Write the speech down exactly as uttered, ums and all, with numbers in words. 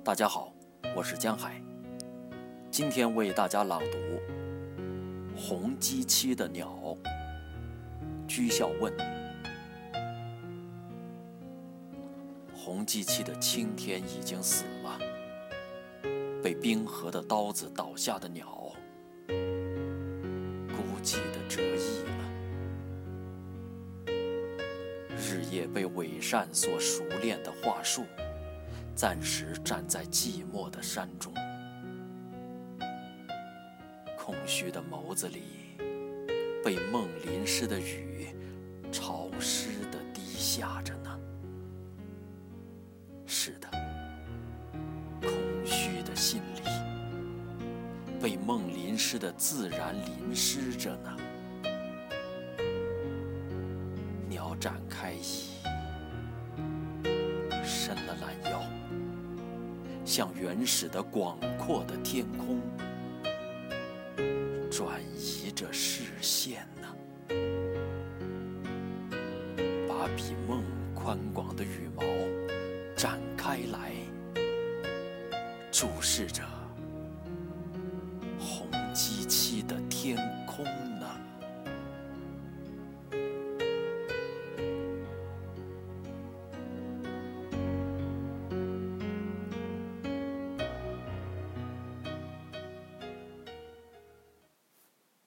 大家好，我是江海，今天为大家朗读《红鸡栖的鸟》。居孝问：红鸡栖的青天已经死了，被冰河的刀子倒下的鸟，孤寂地折翼了。日夜被伪善所熟练的话术，暂时站在寂寞的山中，空虚的眸子里，被梦淋湿的雨潮湿地滴下着呢。是的，空虚的心里，被梦淋湿的自然淋湿着呢。鸟展开翼，伸了懒腰，向原始的广阔的天空转移着视线呢，把比梦宽广的羽毛展开来，注视着